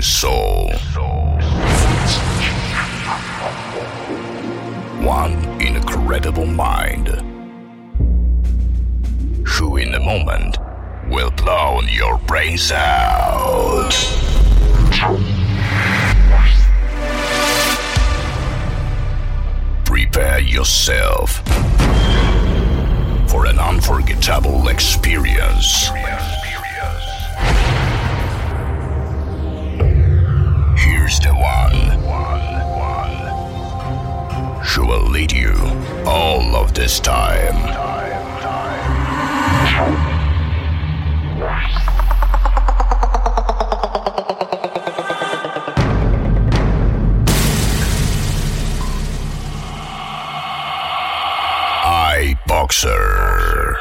soul. One incredible mind, who in a moment will blow your brains out. Prepare yourself for an unforgettable experience. Here's the one who will lead you all of this time. Boxer.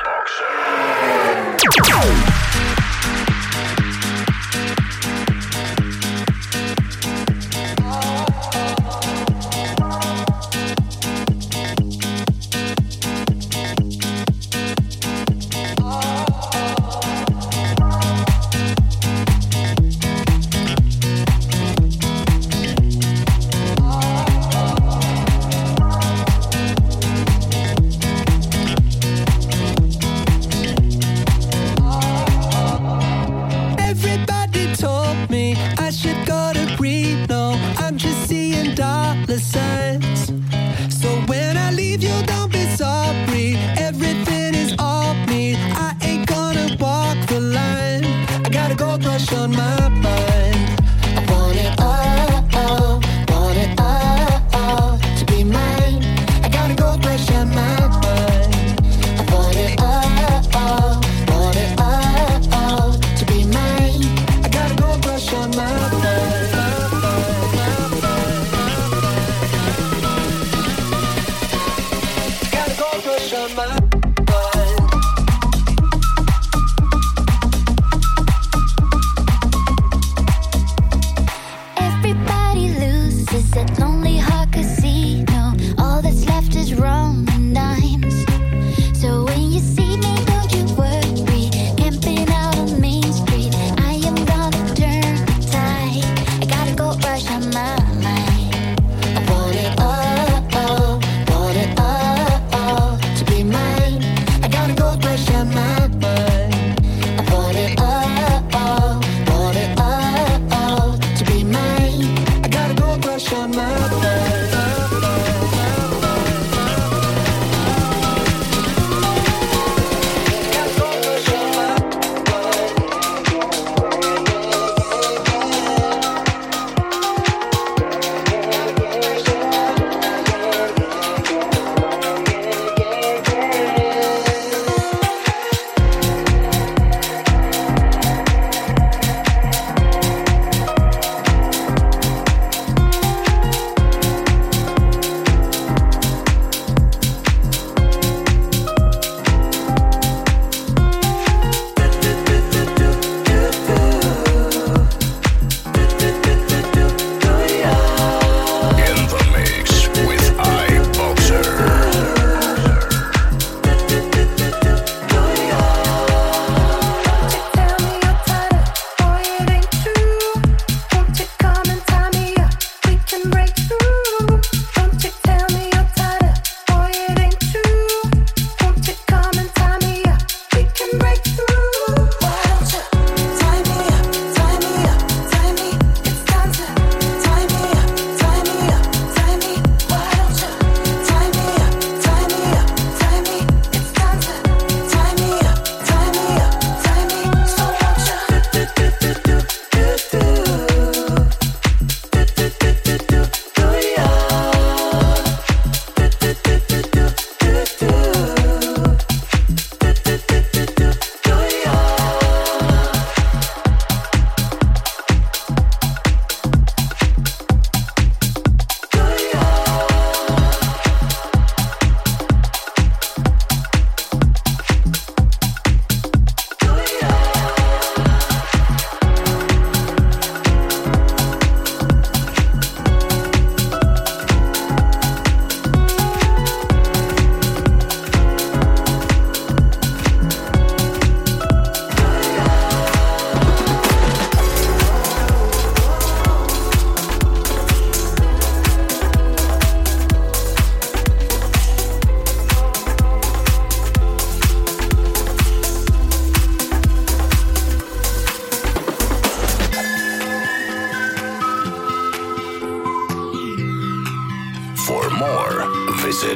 visit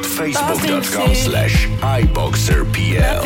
facebook.com/iboxerpl.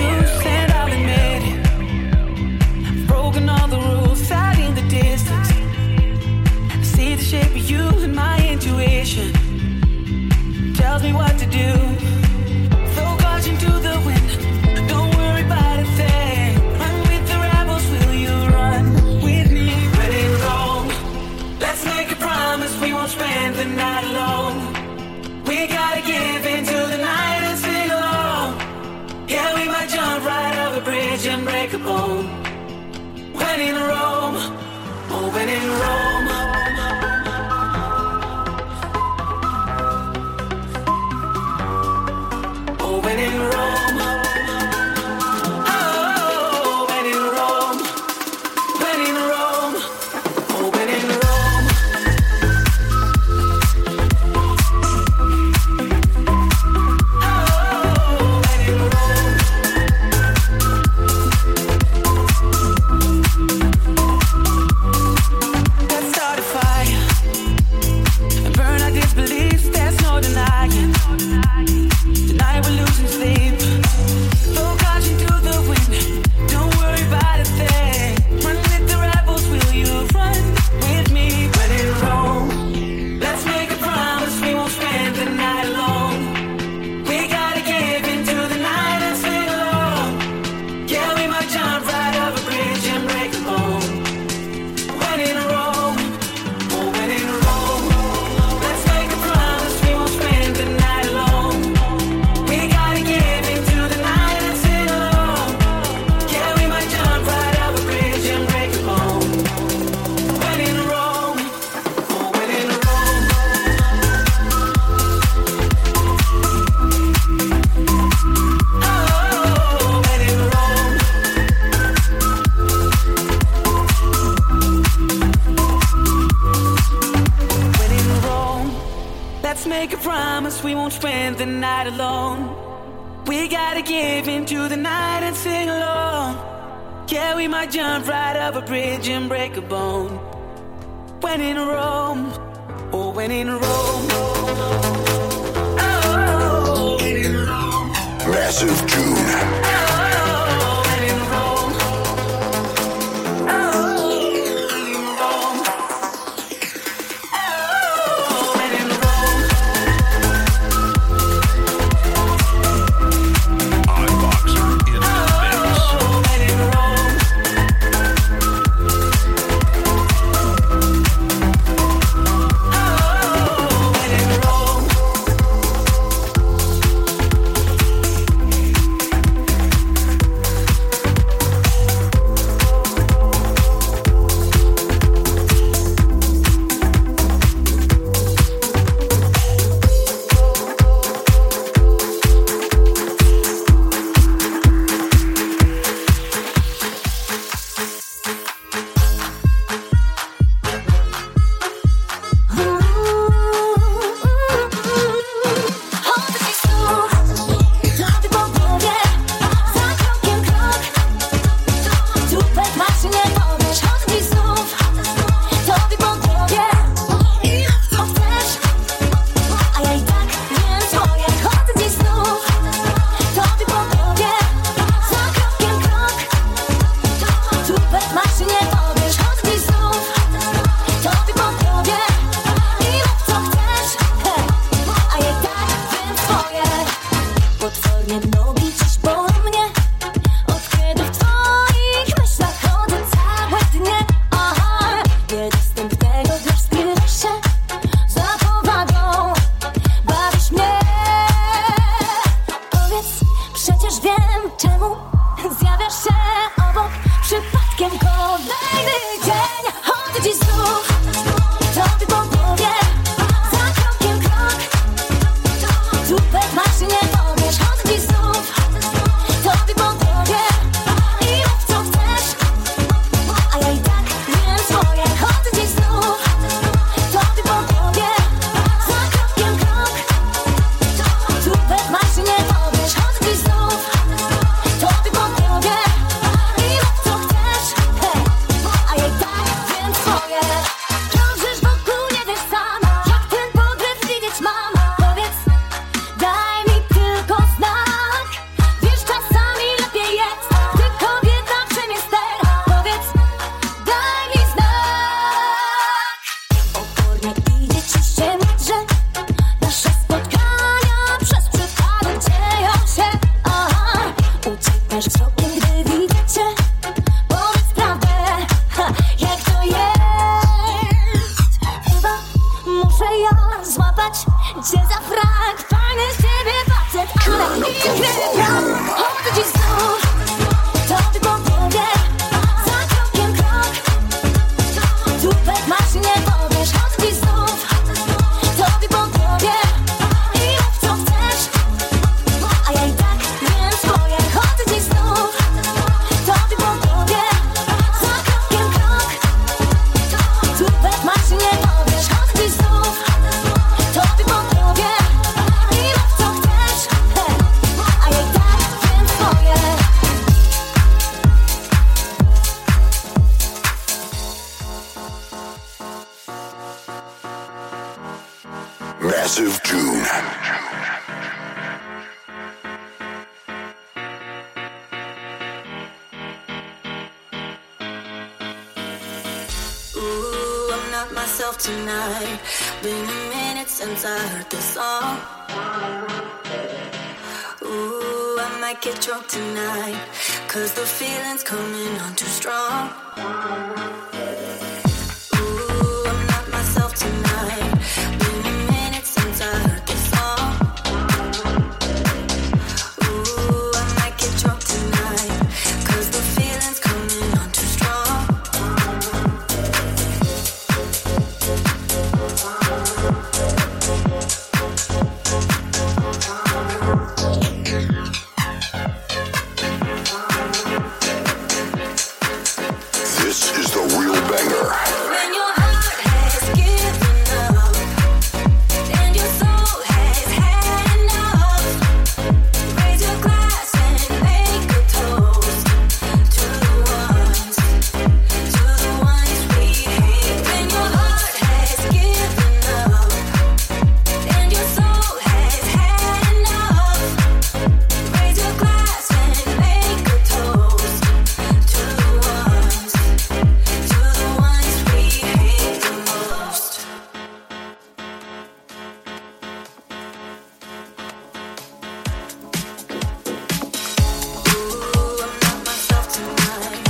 Broken all the rules out in the distance. See the shape of you and my intuition tells me what to do. Throw caution to the wind. Don't worry about a thing. Run with the rebels, will you run with me? When in Rome, let's make a promise we won't spend the night alone. We gotta give into the night and sing along. Yeah, we might jump right over a bridge and break a bone. When in Rome, oh, when in Rome. Oh, when in Rome. Oh, when in Rome. When in Rome. Oh, when in Rome. Oh, when in Rome. Let's start a fire and burn our disbeliefs. There's no denying. Tonight we're losing sleep. Throw caution to the wind. Don't worry about a thing. Run with the rebels, will you run with me? When in Rome, let's make a promise we won't spend the night alone. We gotta give into the night and sing along. Yeah, we might jump right over a bridge and break a bone. When in Rome, oh, when in Rome, let's make a promise we won't spend the night alone. We gotta give into the night and sing along. Yeah, we might jump right over a bridge and break a bone. When in Rome, oh, when in Rome. Oh, when in Rome. When in Rome, let's make a promise we won't spend the night alone. We gotta give into the night and sing along. Yeah, we might jump right up a bridge and break a bone. When in Rome, oh, when in Rome. Oh, when in Rome. Massive June. Oh, when in Rome. Oh, when in Rome. Oh, when in Rome. iBoxer in the mix. Oh, when in Rome. Oh, when in Rome. ja złapać cię za frak. Fajny z ciebie facet, ale piękny brak. Chodzę dziś znów, tobie podpowiem. Za krokiem krok, tupet masz i nie powiesz. Chodzę dziś znów, tobie podpowiem. I rób co chcesz, a ja i tak wiem swoje. Chodzę dziś znów, tobie podpowiem. Za krokiem krok, tupet masz i nie powiesz. Chodzę dziś znów, tobie podpowiem. I rób co chcesz, a ja i tak wiem swoje. Massive June. Ooh, I'm not myself tonight. Been a minute since I heard this song. Ooh, I might get drunk tonight, 'cause the feeling's coming on too strong. Ooh, I'm not myself tonight. Been a minute since I heard this song. Ooh, I might get drunk tonight, 'cause the feeling's coming on too strong. This is the real banger. When your heart has given up and your soul has had enough, raise your glass and make a toast to the ones we hate. When your heart has given up and your soul has had enough, raise your glass and make a toast to the ones we hate the most. Ooh, I'm not myself tonight.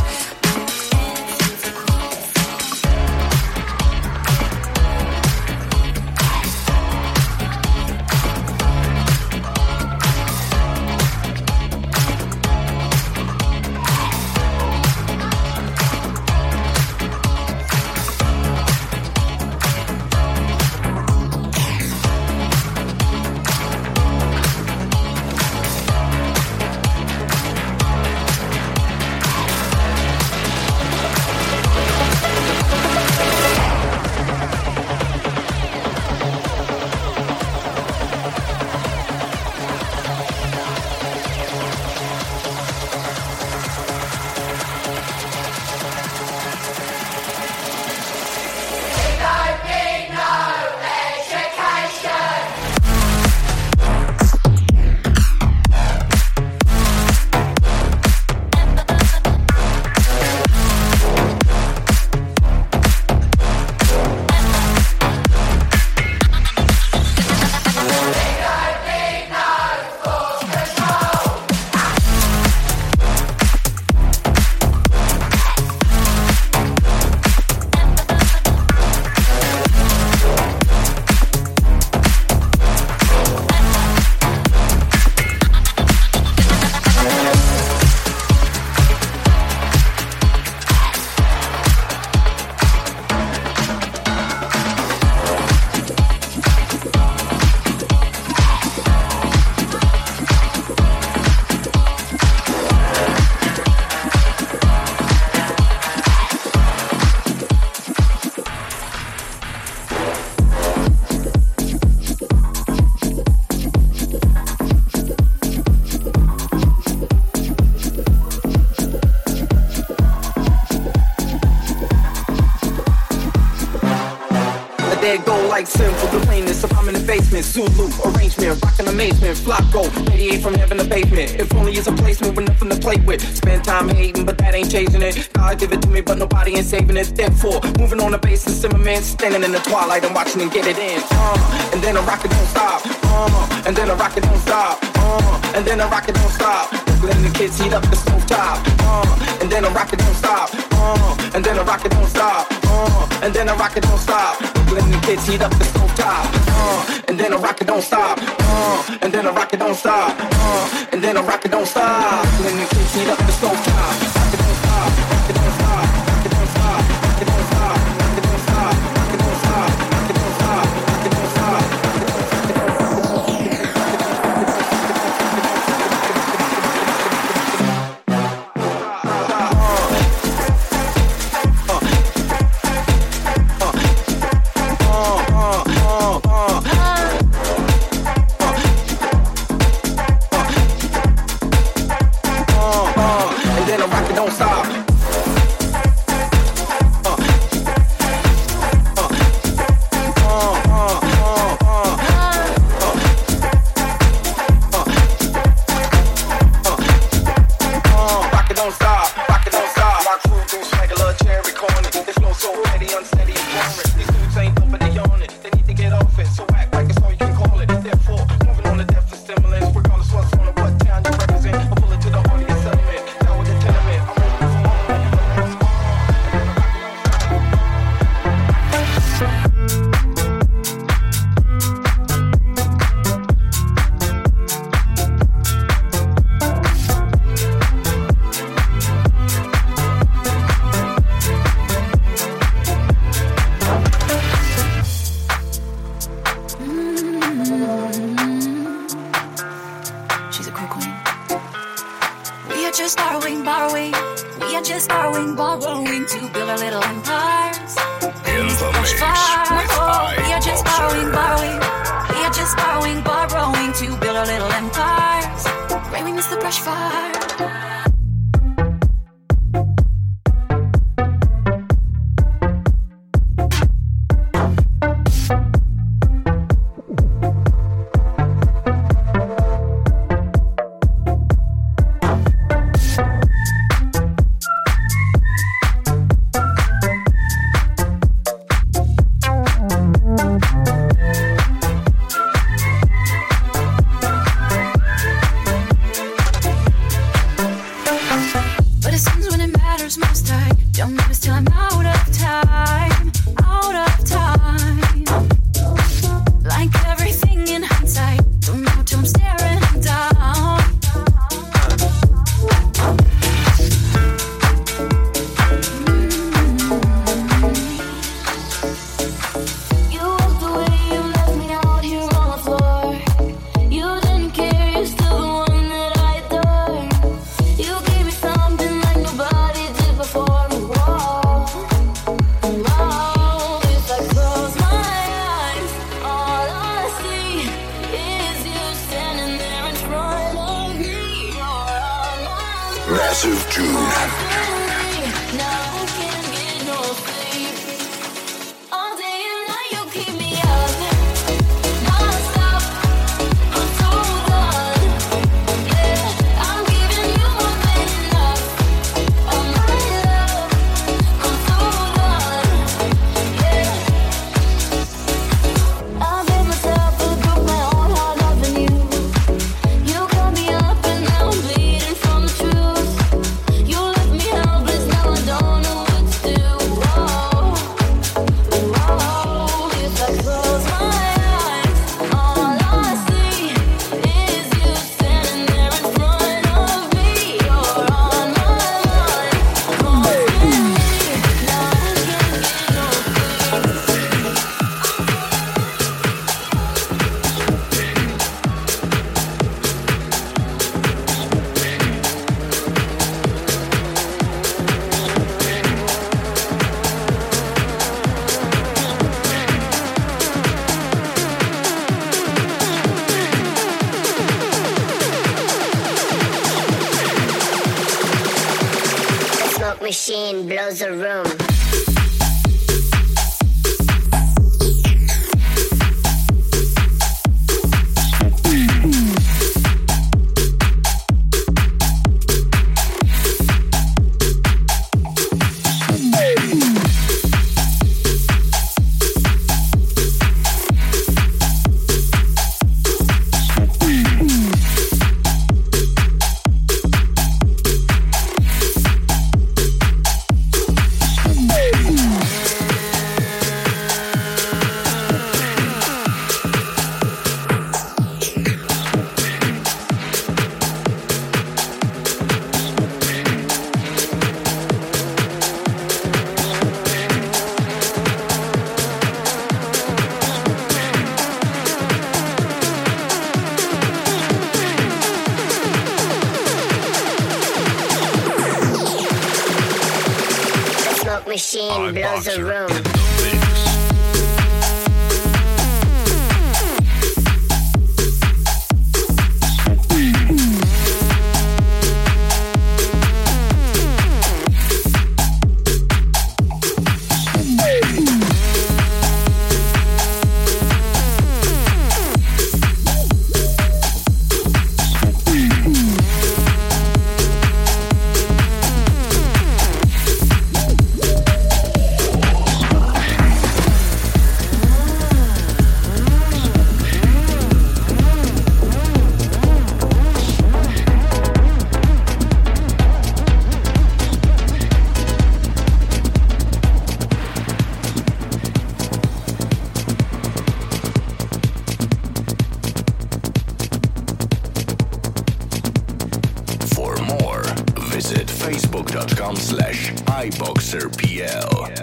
There go like simple, the plainness if I'm in the basement. Zulu, arrangement, rockin' amazement. Flocko, radiate from heaven to pavement. If only it's a placement with nothing to play with. Spend time hating, but that ain't changing it. God give it to me, but nobody ain't saving it. Therefore, moving on the basis, Zimmerman standing in the twilight and watching and get it in. And then a rocket don't stop. And then a rocket don't stop. And then a rocket don't stop. Letting the kids heat up the stove top. And then a rocket don't stop. And then a rocket don't stop. And then a rocket don't stop. When the kids heat up the stove top, and then I rock it don't stop, and then I rock it don't stop, and then I rock it don't stop. When the kids heat up the stove top, rock it don't stop, rock it don't stop, rock it don't stop, rock it don't stop, rock it don't stop, rock it don't stop, rock it don't stop, rock it don't stop. Massive June. was a room. in the mix. Facebook.com/iBoxerPL.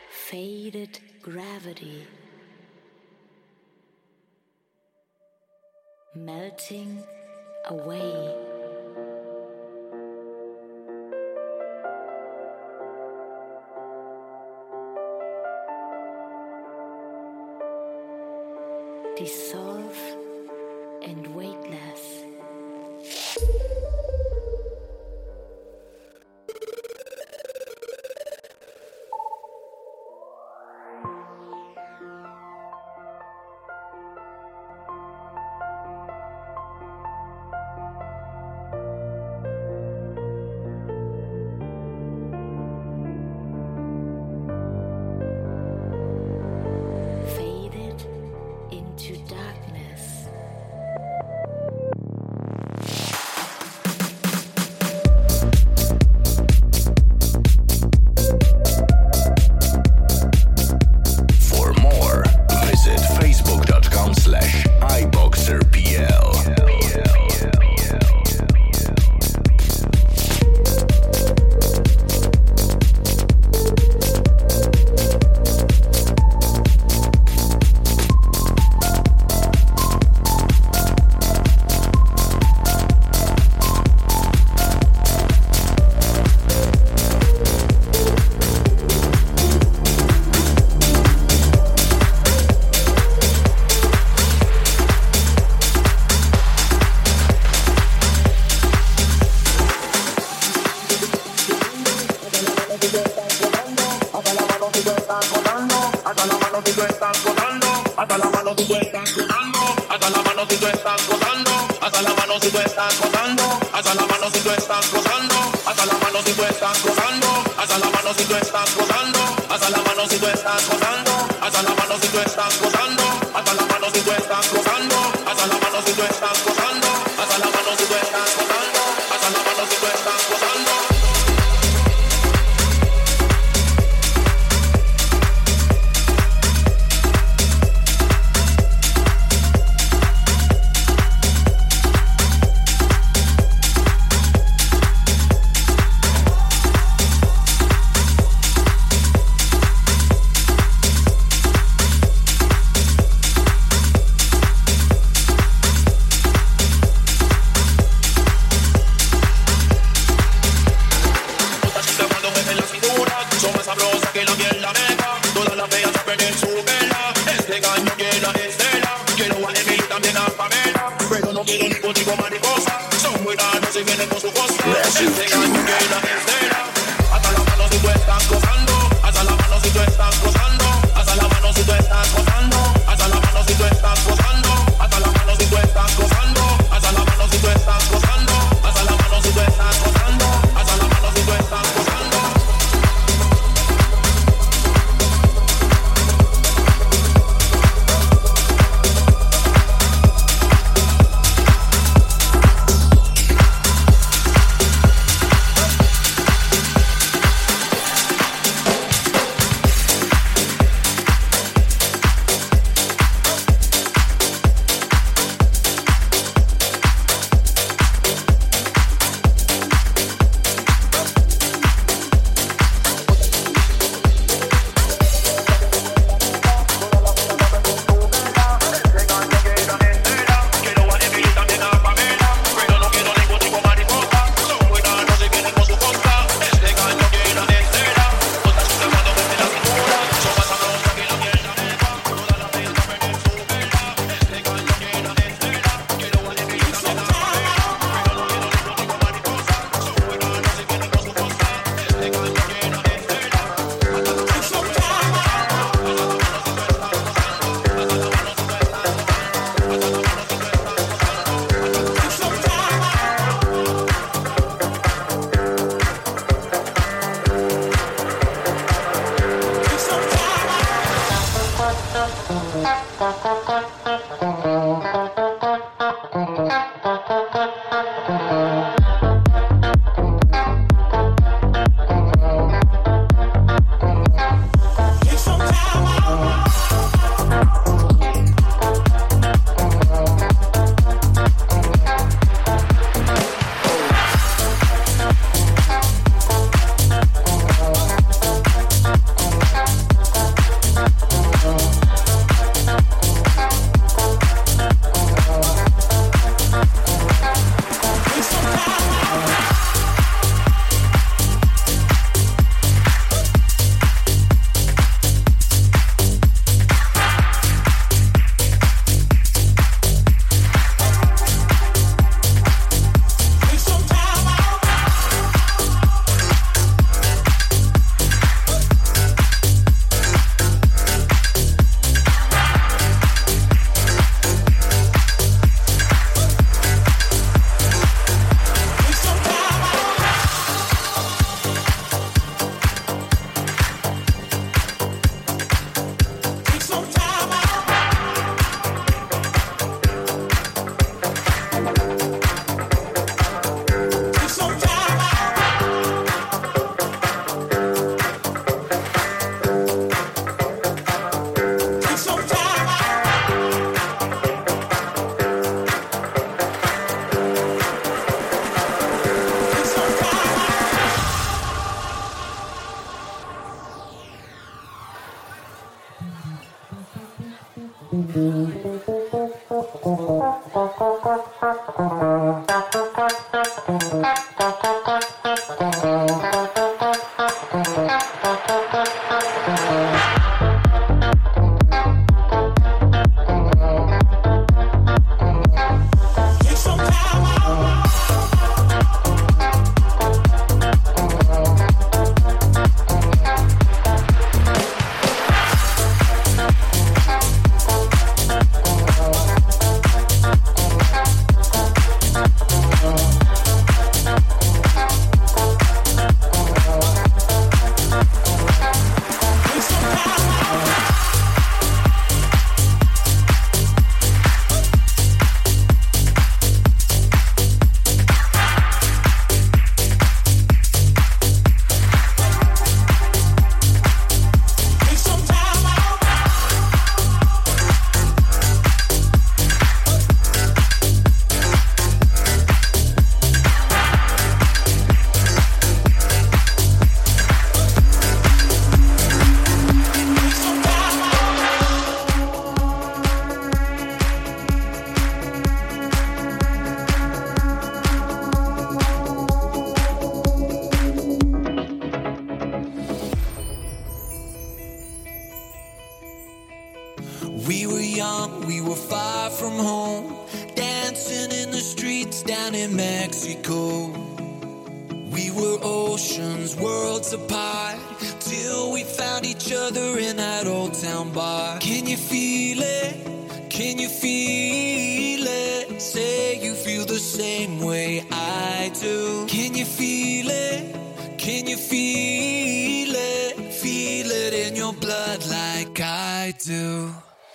Faded gravity. melting away. Dissolve and weightless. Faded into darkness. For more, visit facebook.com/iboxerpl. We were young, we were far from home, dancing in the streets down in Mexico. We were oceans, worlds apart, till we found each other in that old town bar. Can you feel it? Can you feel it? Say you feel the same way I do. Can you feel it? Can you feel it? Feel it in your blood like I do.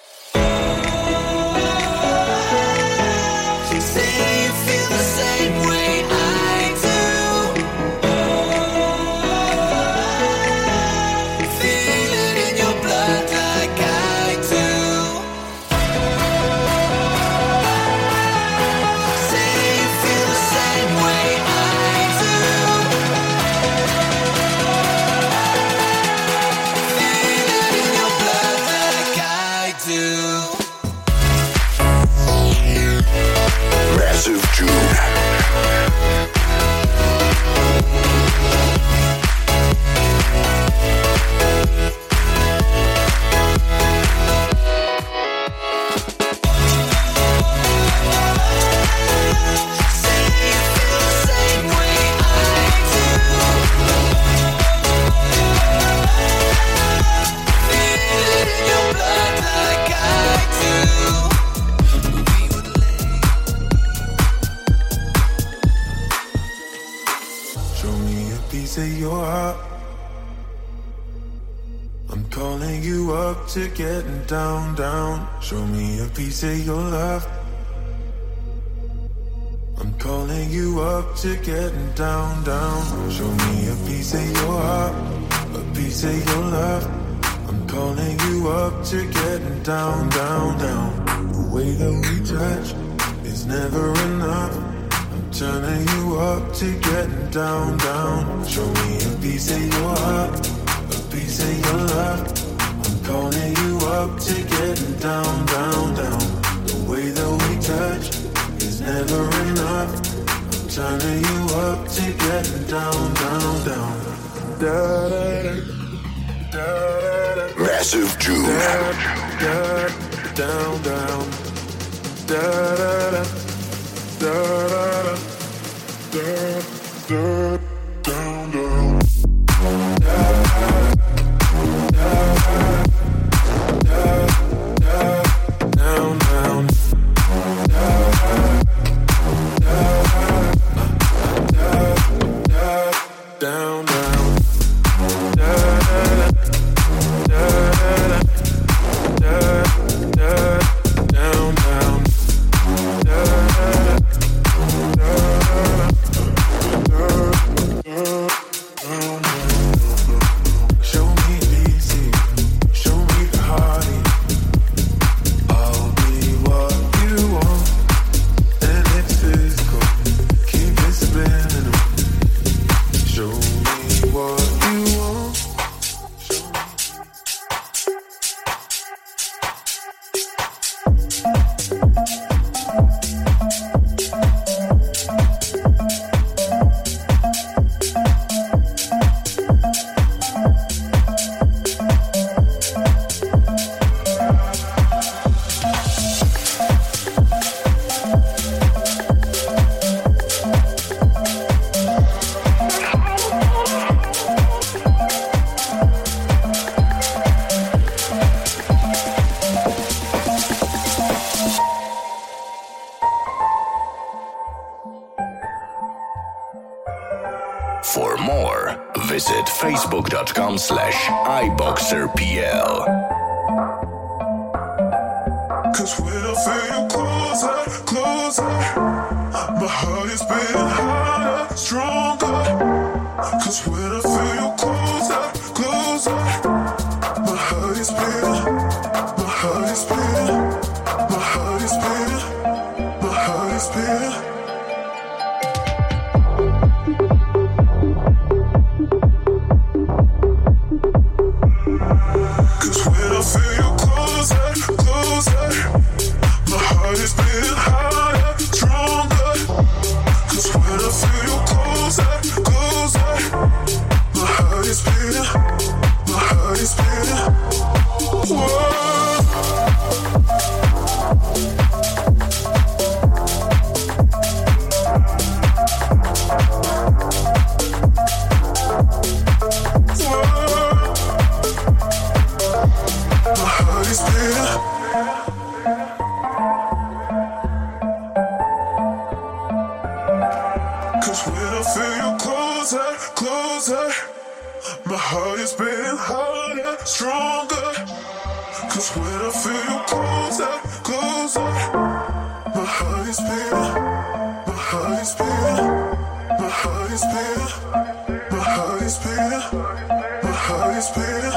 Say you feel the same way I do. Feel it in your blood like I do. Say you feel the same way I do. Feel it in your blood like I do. Massive June. Your heart. I'm calling you up to getting down, down. Show me a piece of your love. I'm calling you up to getting down, down. Show me a piece of your heart, a piece of your love. I'm calling you up to getting down, down, down. The way that we touch is never enough. Turning you up to getting down, down. Show me a piece of your heart, a piece of your love. I'm calling you up to getting down, down, down. The way that we touch is never enough. I'm turning you up to getting down, down, down. Da da da da. Massive June. Da down, down. Da da da. Da da da, da da down down. Da da da da down down. Da da da down down. Da da da down down. Da For more, visit facebook.com/iboxerpl. Cause when I feel you closer, closer, my heart is beating harder, stronger. Cause when I feel you closer, closer, my heart is beating, my heart is beating, my heart is beating, my heart is beating. Cause when I feel you closer, closer, my heart is beating harder, stronger. Cause when I feel you closer, closer, my heart is beating, my heart is beating. Whoa. Cause when I feel you closer, closer, my heart is beating harder, stronger. Cause when I feel you closer, closer, my heart is beating, my heart is beating, my heart is beating, my heart is beating, my heart is beating.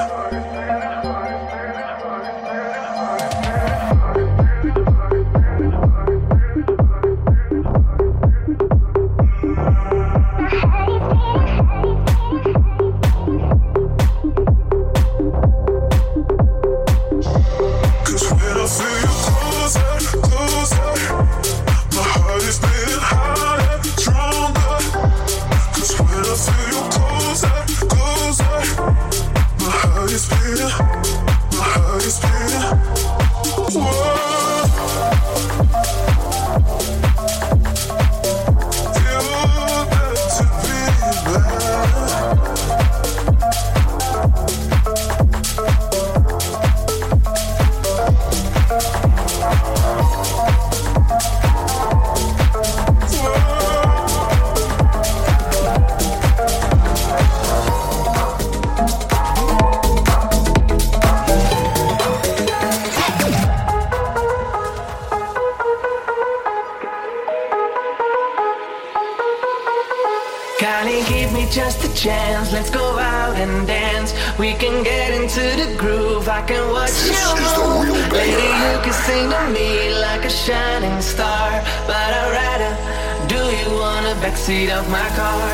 Just a chance, let's go out and dance. We can get into the groove, I can watch you move. Lady, you can sing to me like a shining star, but I'd rather do you on the backseat of my car.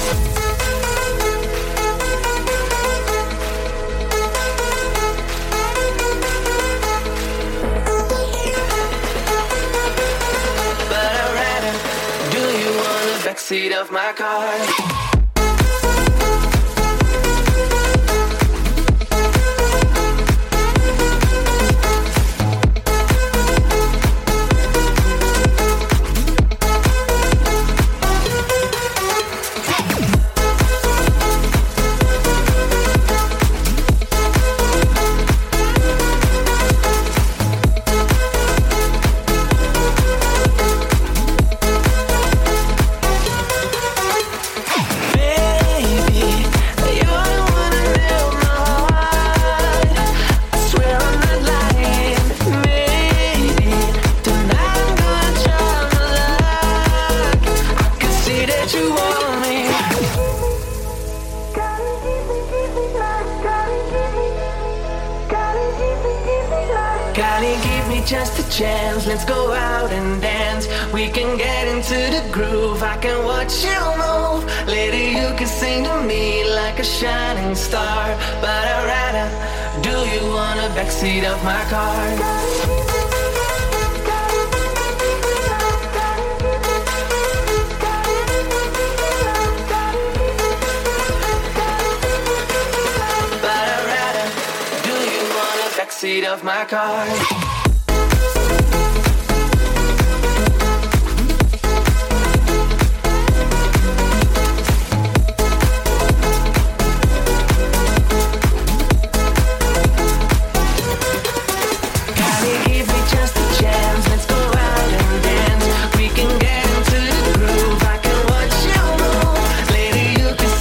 But I'd rather do you on the backseat of my car. Just a chance, let's go out and dance. We can get into the groove, I can watch you move. Lady, you can sing to me like a shining star, but I'd rather do you on the backseat of my car. But I'd rather do you on the backseat of my car. You can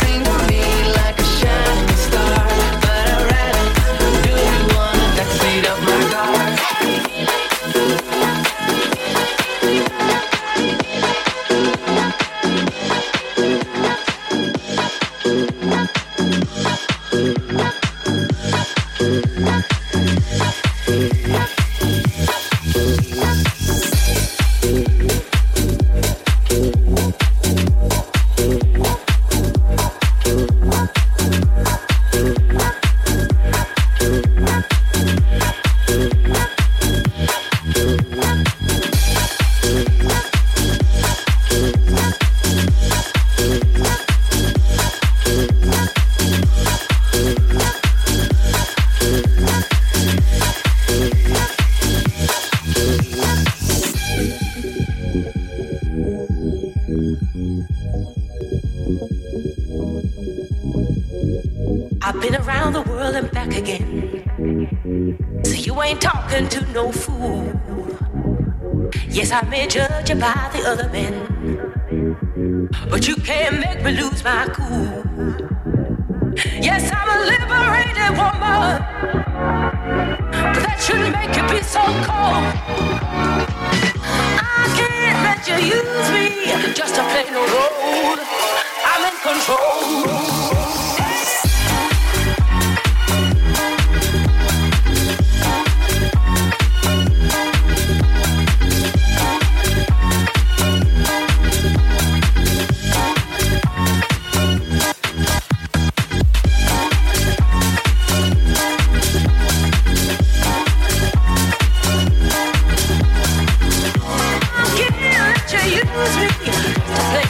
I've been around the world and back again. So you ain't talking to no fool. Yes, I may judge you by the other men, but you can't make me lose my cool. Yes, I'm a liberated woman, but that shouldn't make you be so cold. I can't let you use me just to play no role. I'm in control. Use me to play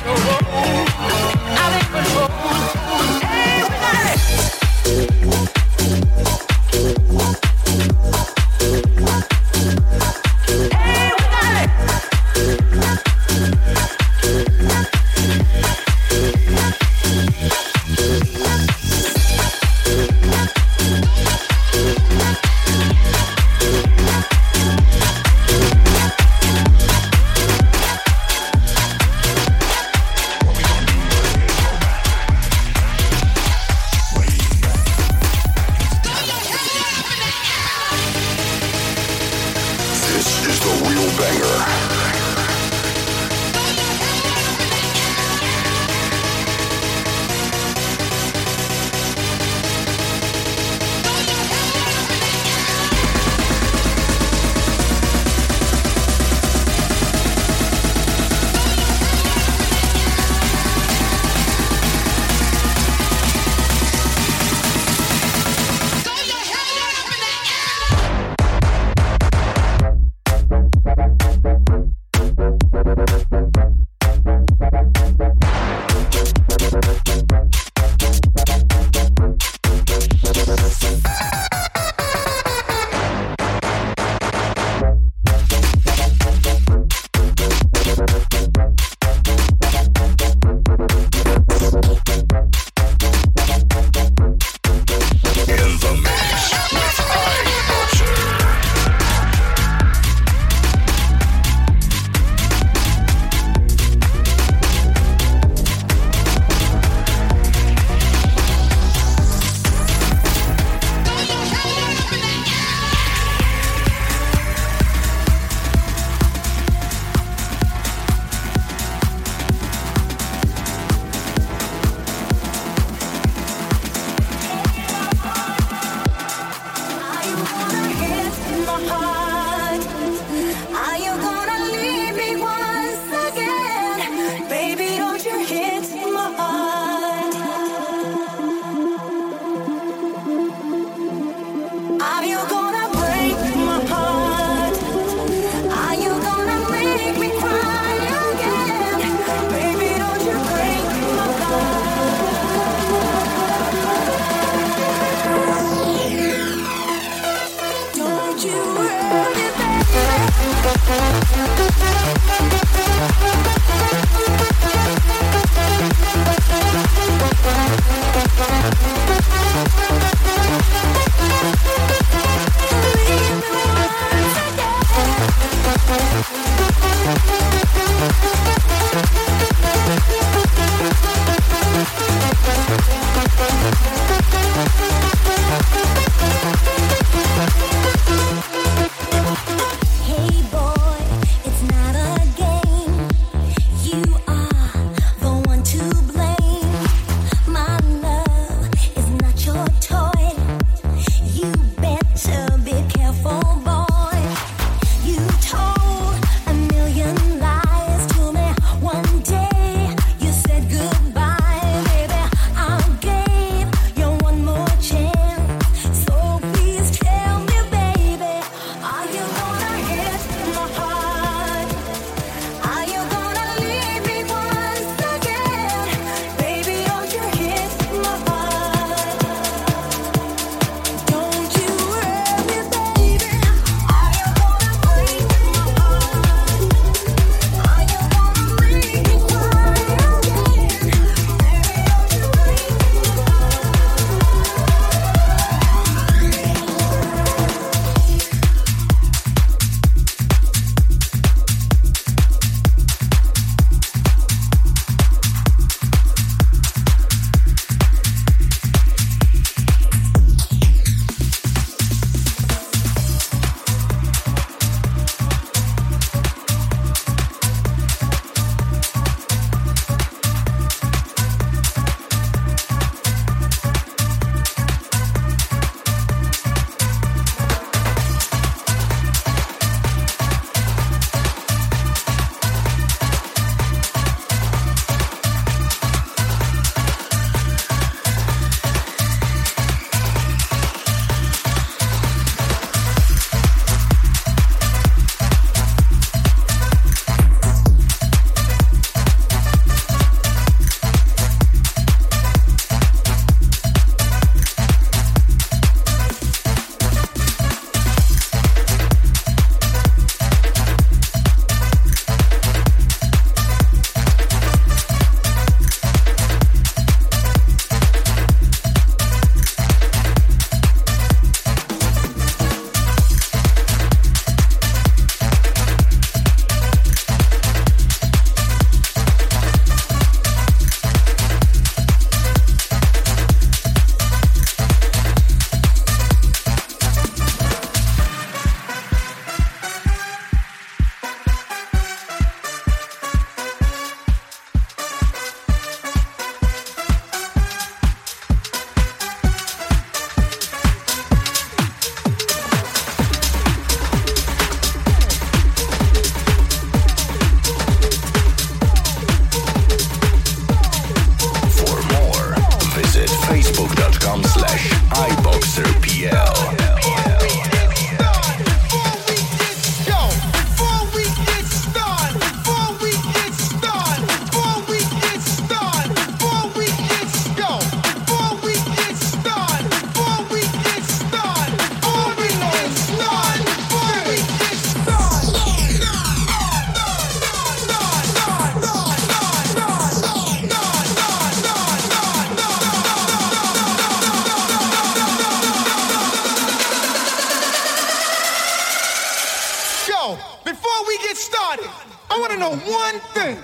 know one thing.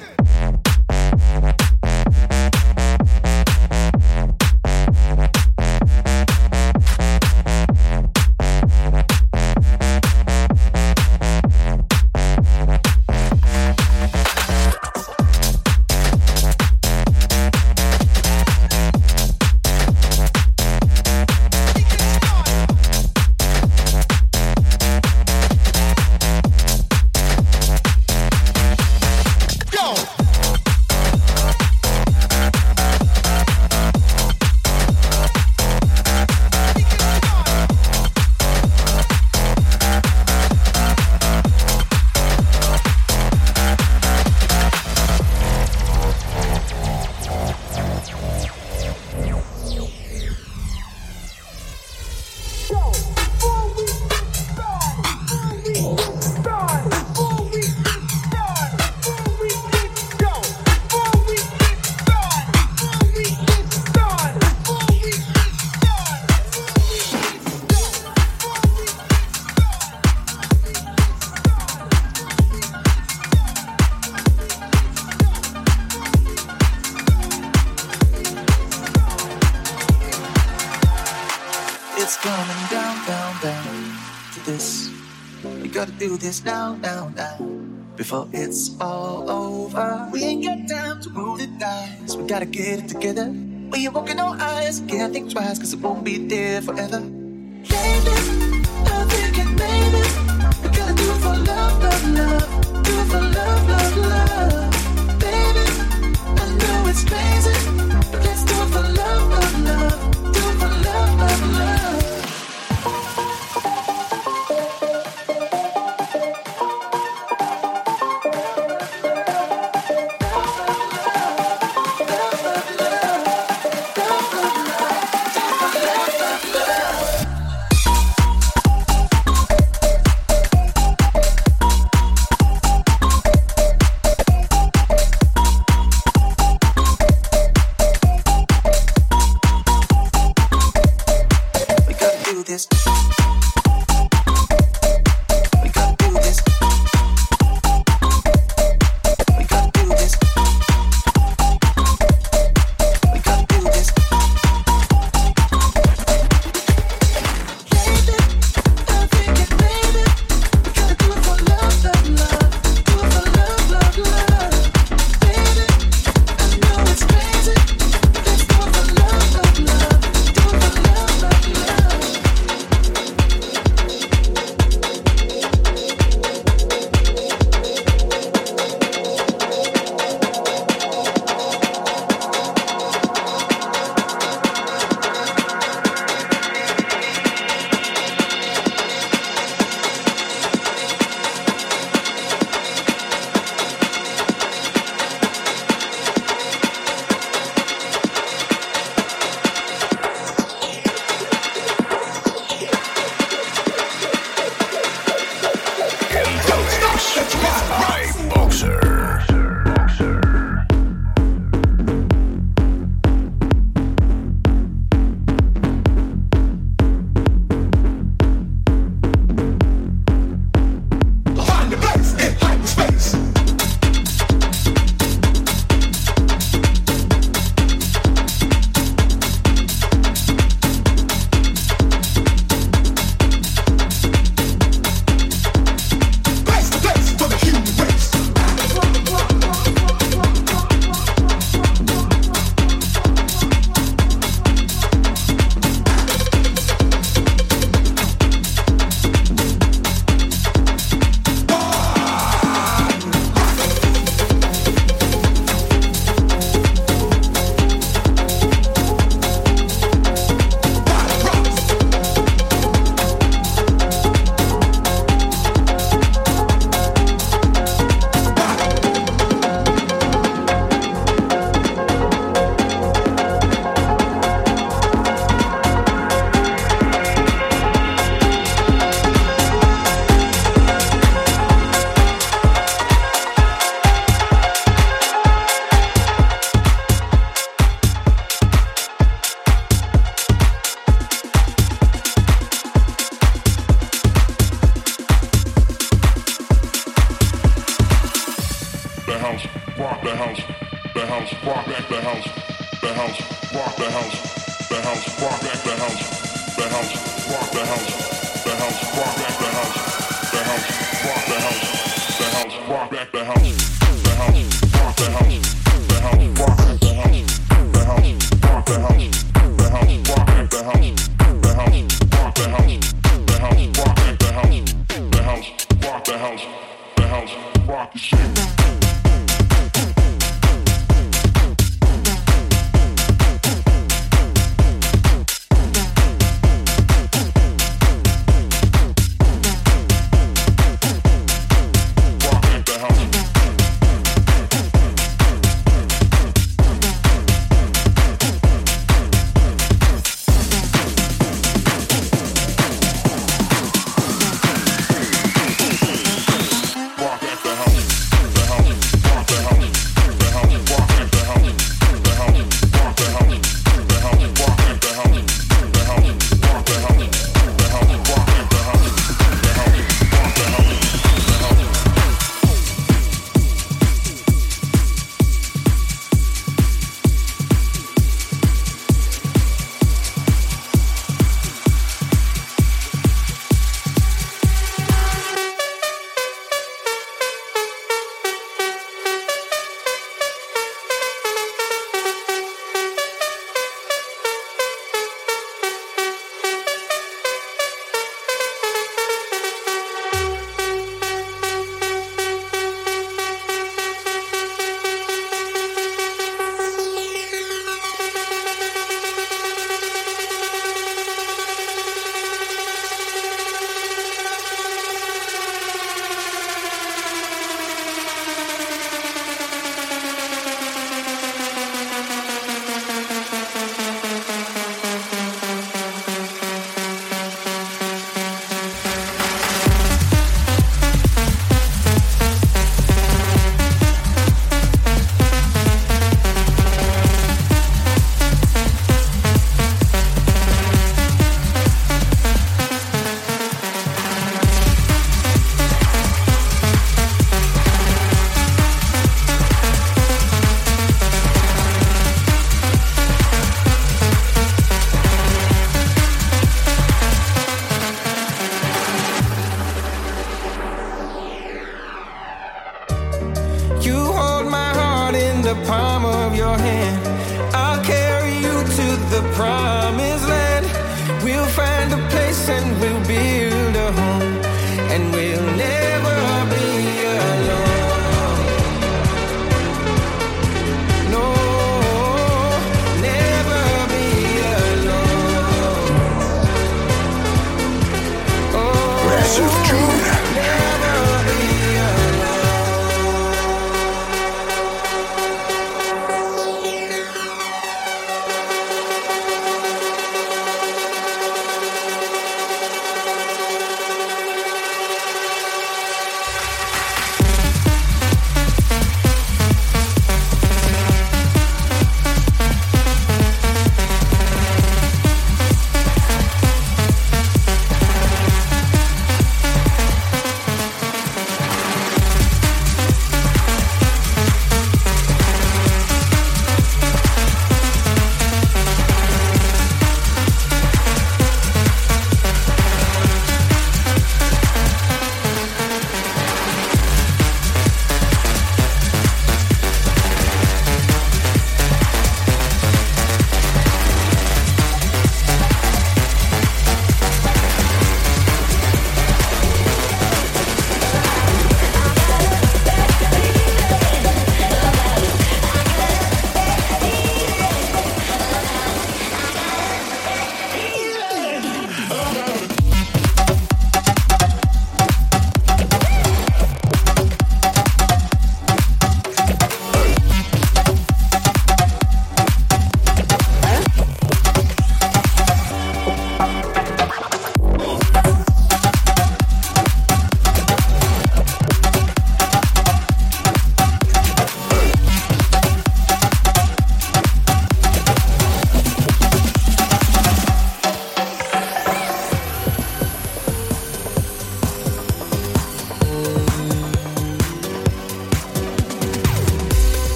This now, before it's all over. We ain't got time to roll the dice. We gotta get it together. When you're walking on ice, can't think twice, cause it won't be there forever. Baby, I'm thinking, baby, we gotta do it for love, love, love. Do it for love, love, love. Baby, I know it's crazy, but let's do it for love, love, love. Do it for love, love, love.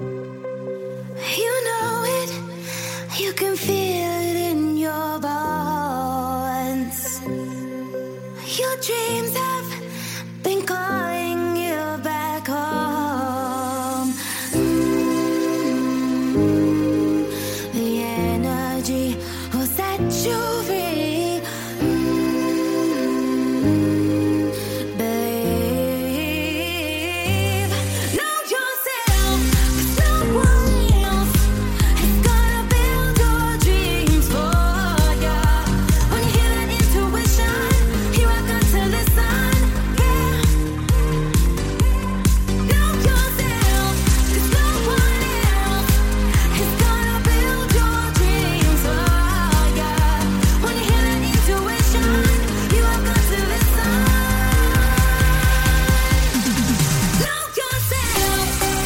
You know it, you can feel it in your bones. Your dreams have been calling you back home. The energy will set you free. Believe. Know yourself, 'cause no one else is gonna build your dreams for ya. When you hear that intuition, you walk up to the sun. Yeah. Know yourself, 'cause no one else is gonna build your dreams for ya. When you hear that intuition, you walk up to the sun. Know yourself.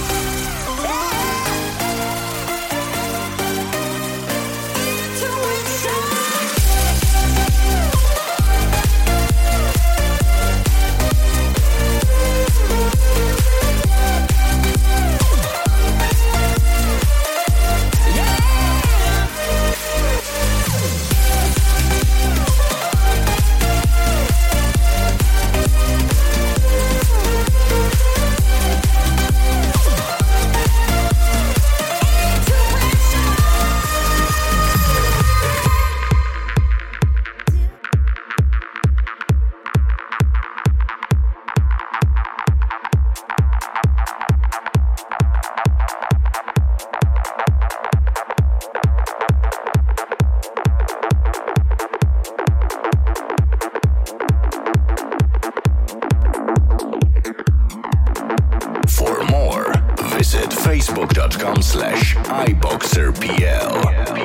For more, visit facebook.com/iboxerpl.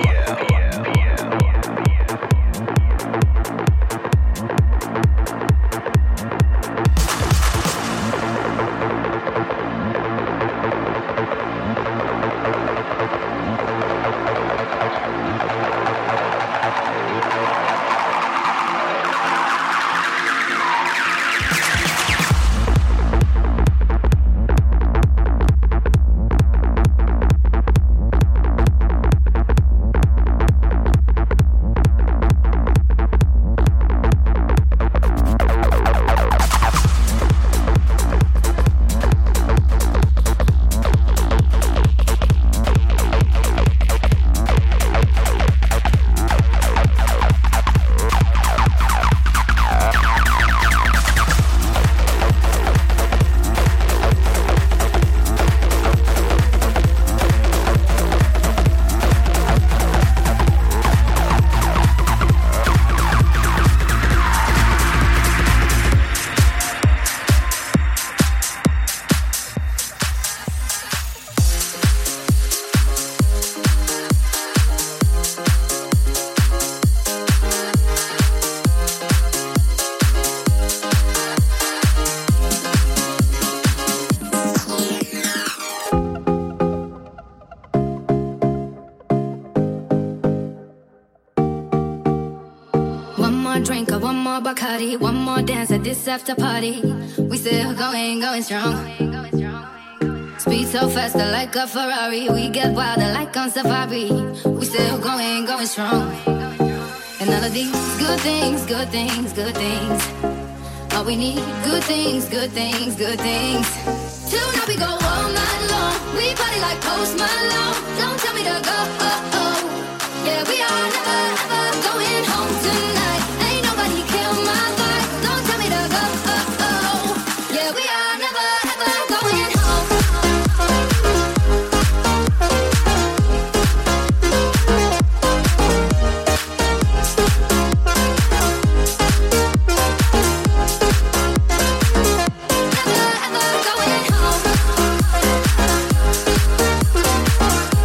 One more drink or one more Bacardi, one more dance at this after party. We still going strong. Speed so faster like a Ferrari. We get wilder like on safari. We still going strong. And all of these good things, good things, good things. All we need, good things, good things, good things. Tonight we go all night long. We party like Post Malone. Don't tell me to go. Yeah, we are never ever going home tonight. Ain't nobody kill my vibe. Don't tell me to go. Yeah, we are never ever going home. Never ever going home.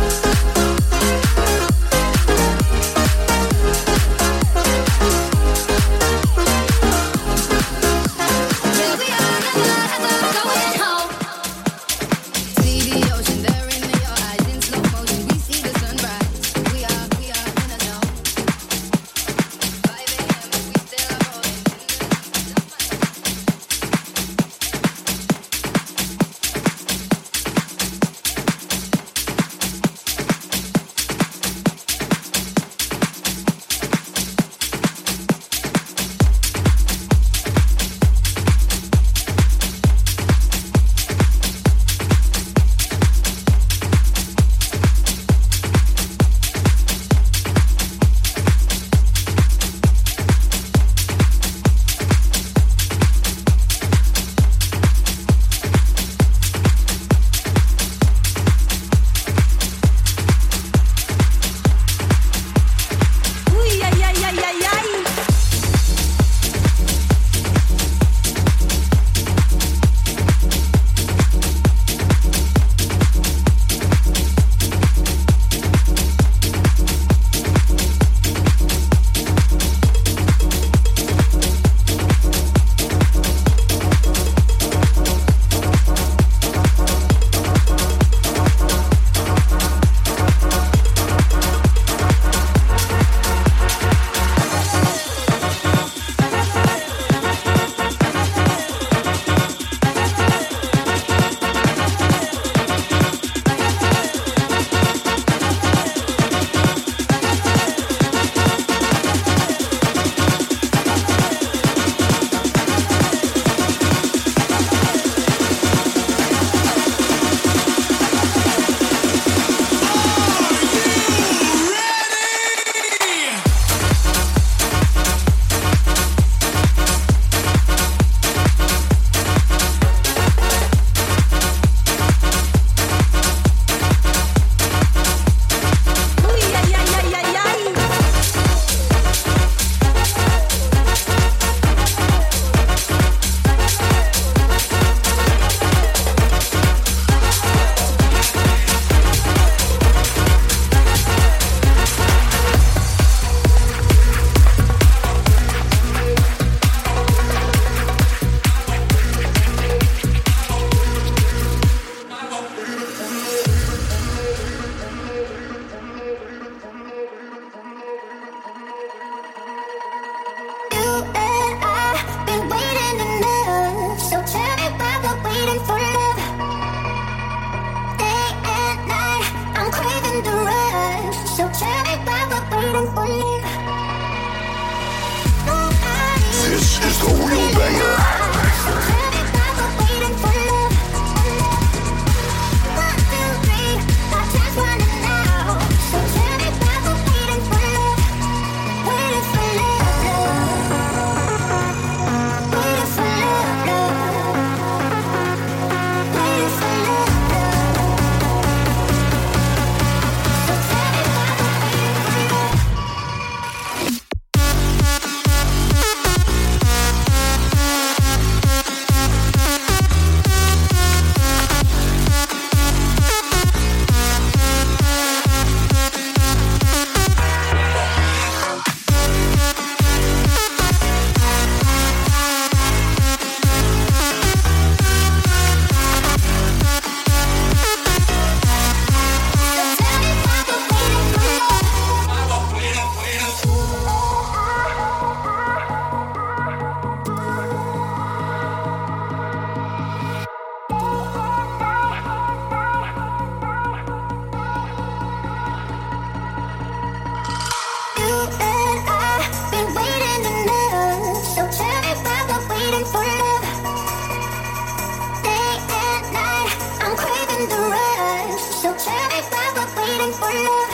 for love.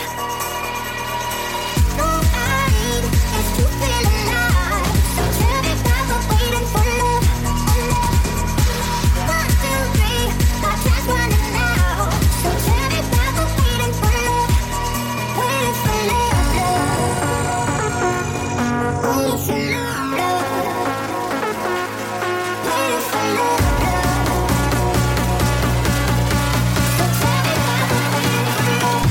All I need is to feel alive. So tell me why we're waiting for love. 1, 2, 3, our time's running out. So tell me why we're waiting for love. Waiting for love, love. Waiting for love, love. Waiting for love, love. So tell me why we're waiting for love.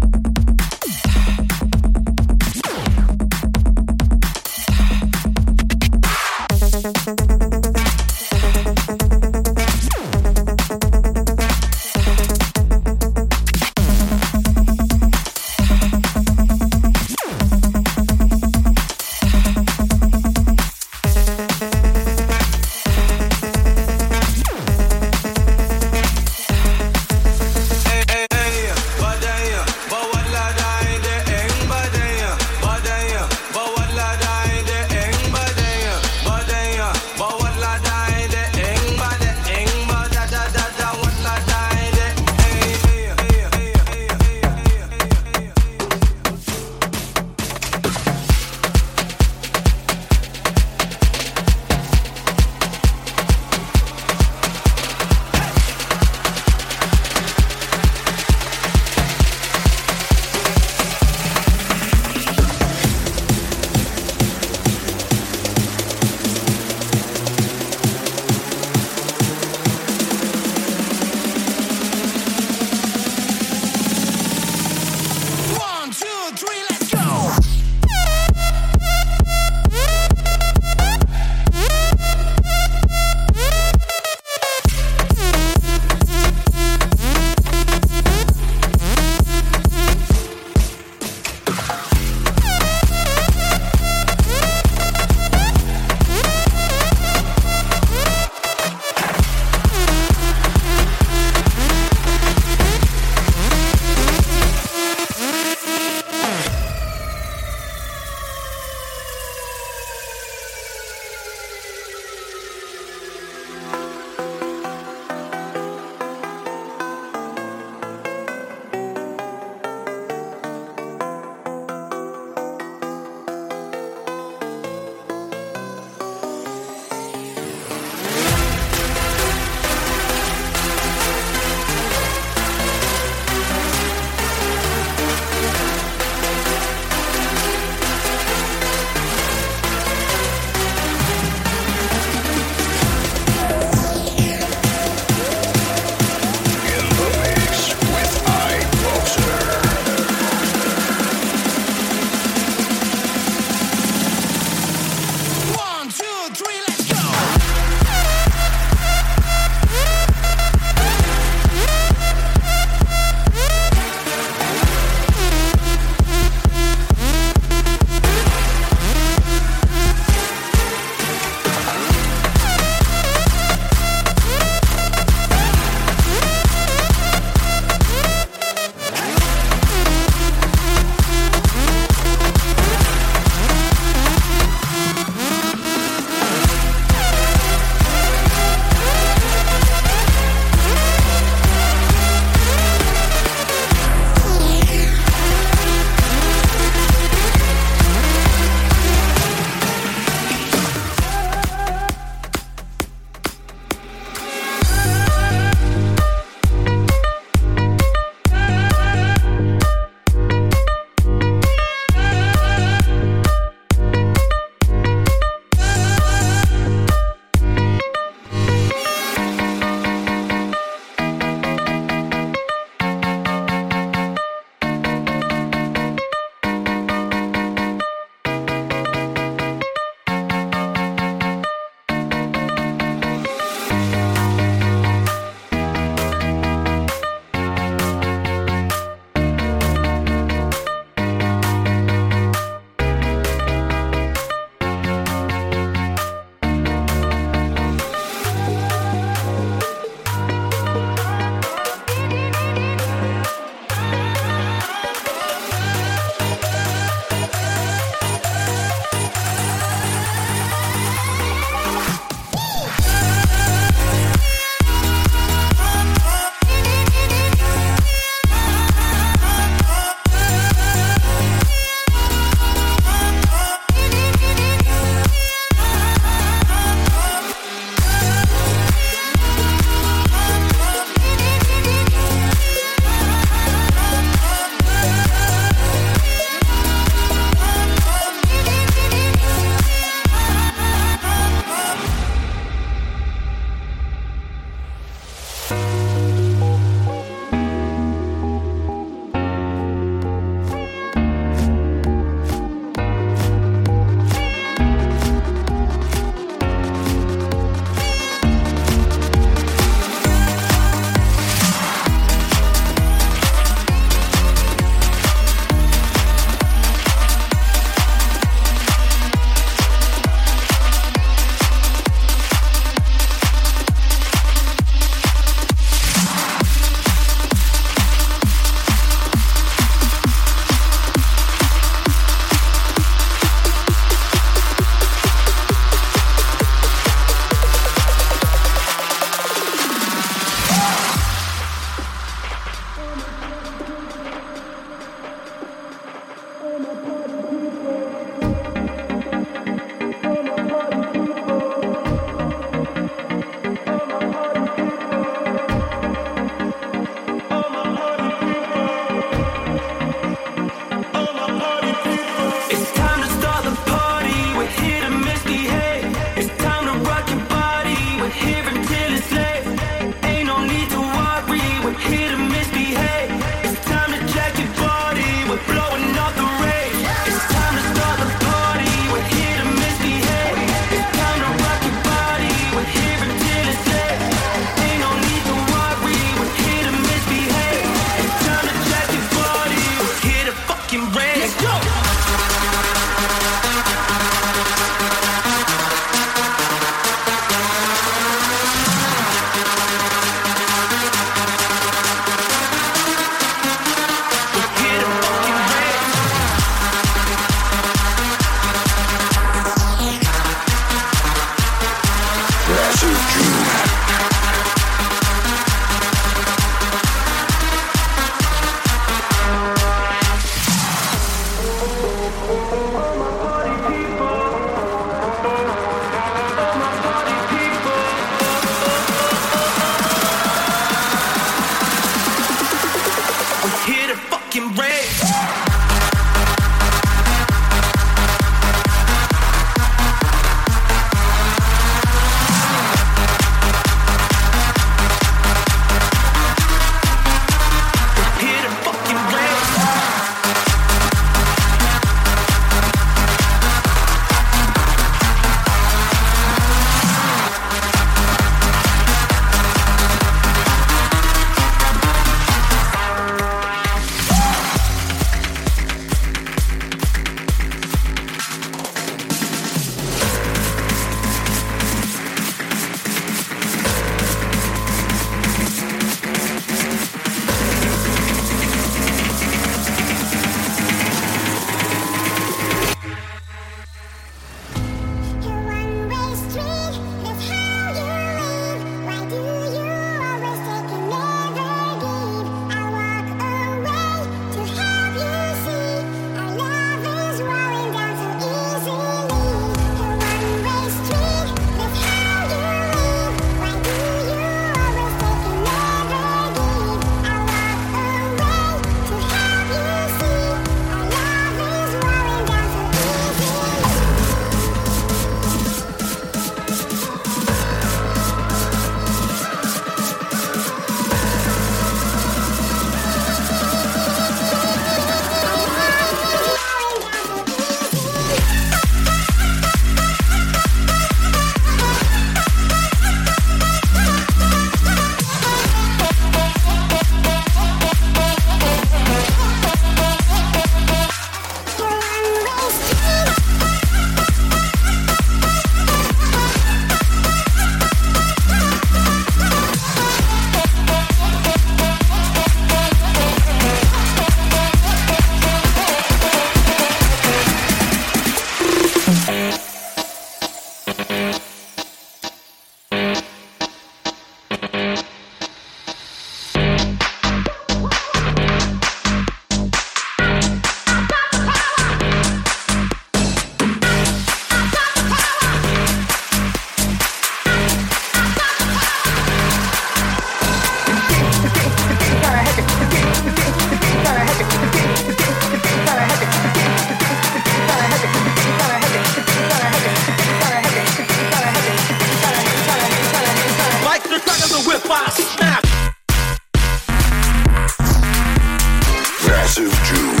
Massive June.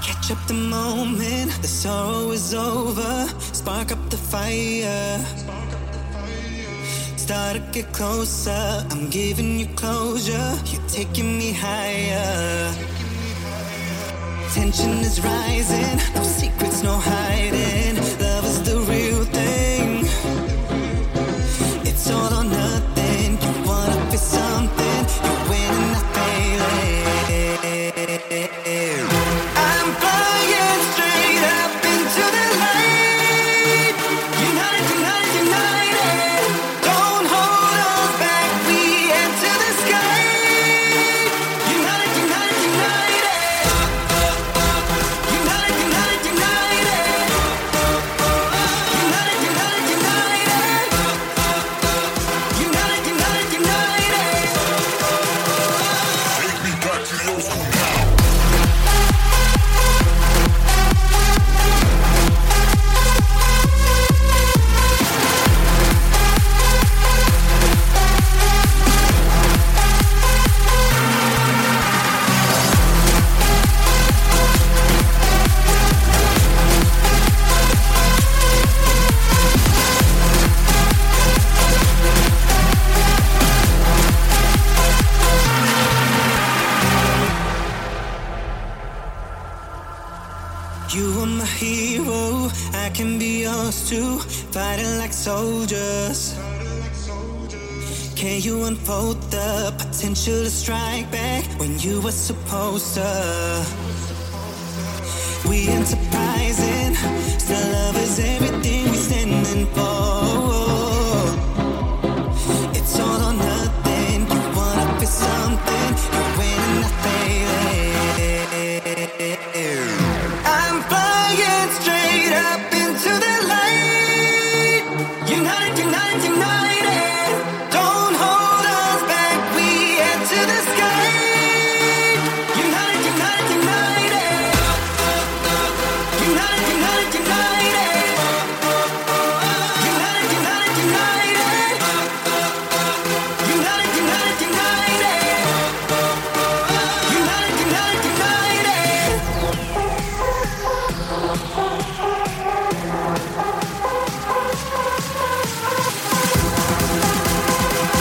Catch up the moment, the sorrow is over. Spark up the fire. Start to get closer, I'm giving you closure. You're taking me higher. Tension is rising, no secrets, no hiding. Love is the real thing. It's all or nothing. You wanna feel something, you're winning, not failing. I'm flying straight up into the light. United, united, united. Don't hold us back, we enter the sky. United, united, united. United, united, united. United, united, united. United, united, united. Take me back to the old school now. You are my hero, I can be yours too. Fighting like soldiers. Can you unfold the potential to strike back when you were supposed to? We enterprising, still love is everything we standing for. It's all or nothing, you wanna feel something, you're winning, not failing. I'm flying straight up into the light. United, united, united. Don't hold us back, we enter the sky. United, united, united. United, united, united. United, united, united. United, united, united. United, united, united.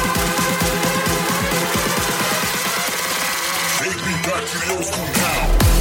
Take me back to the old school now.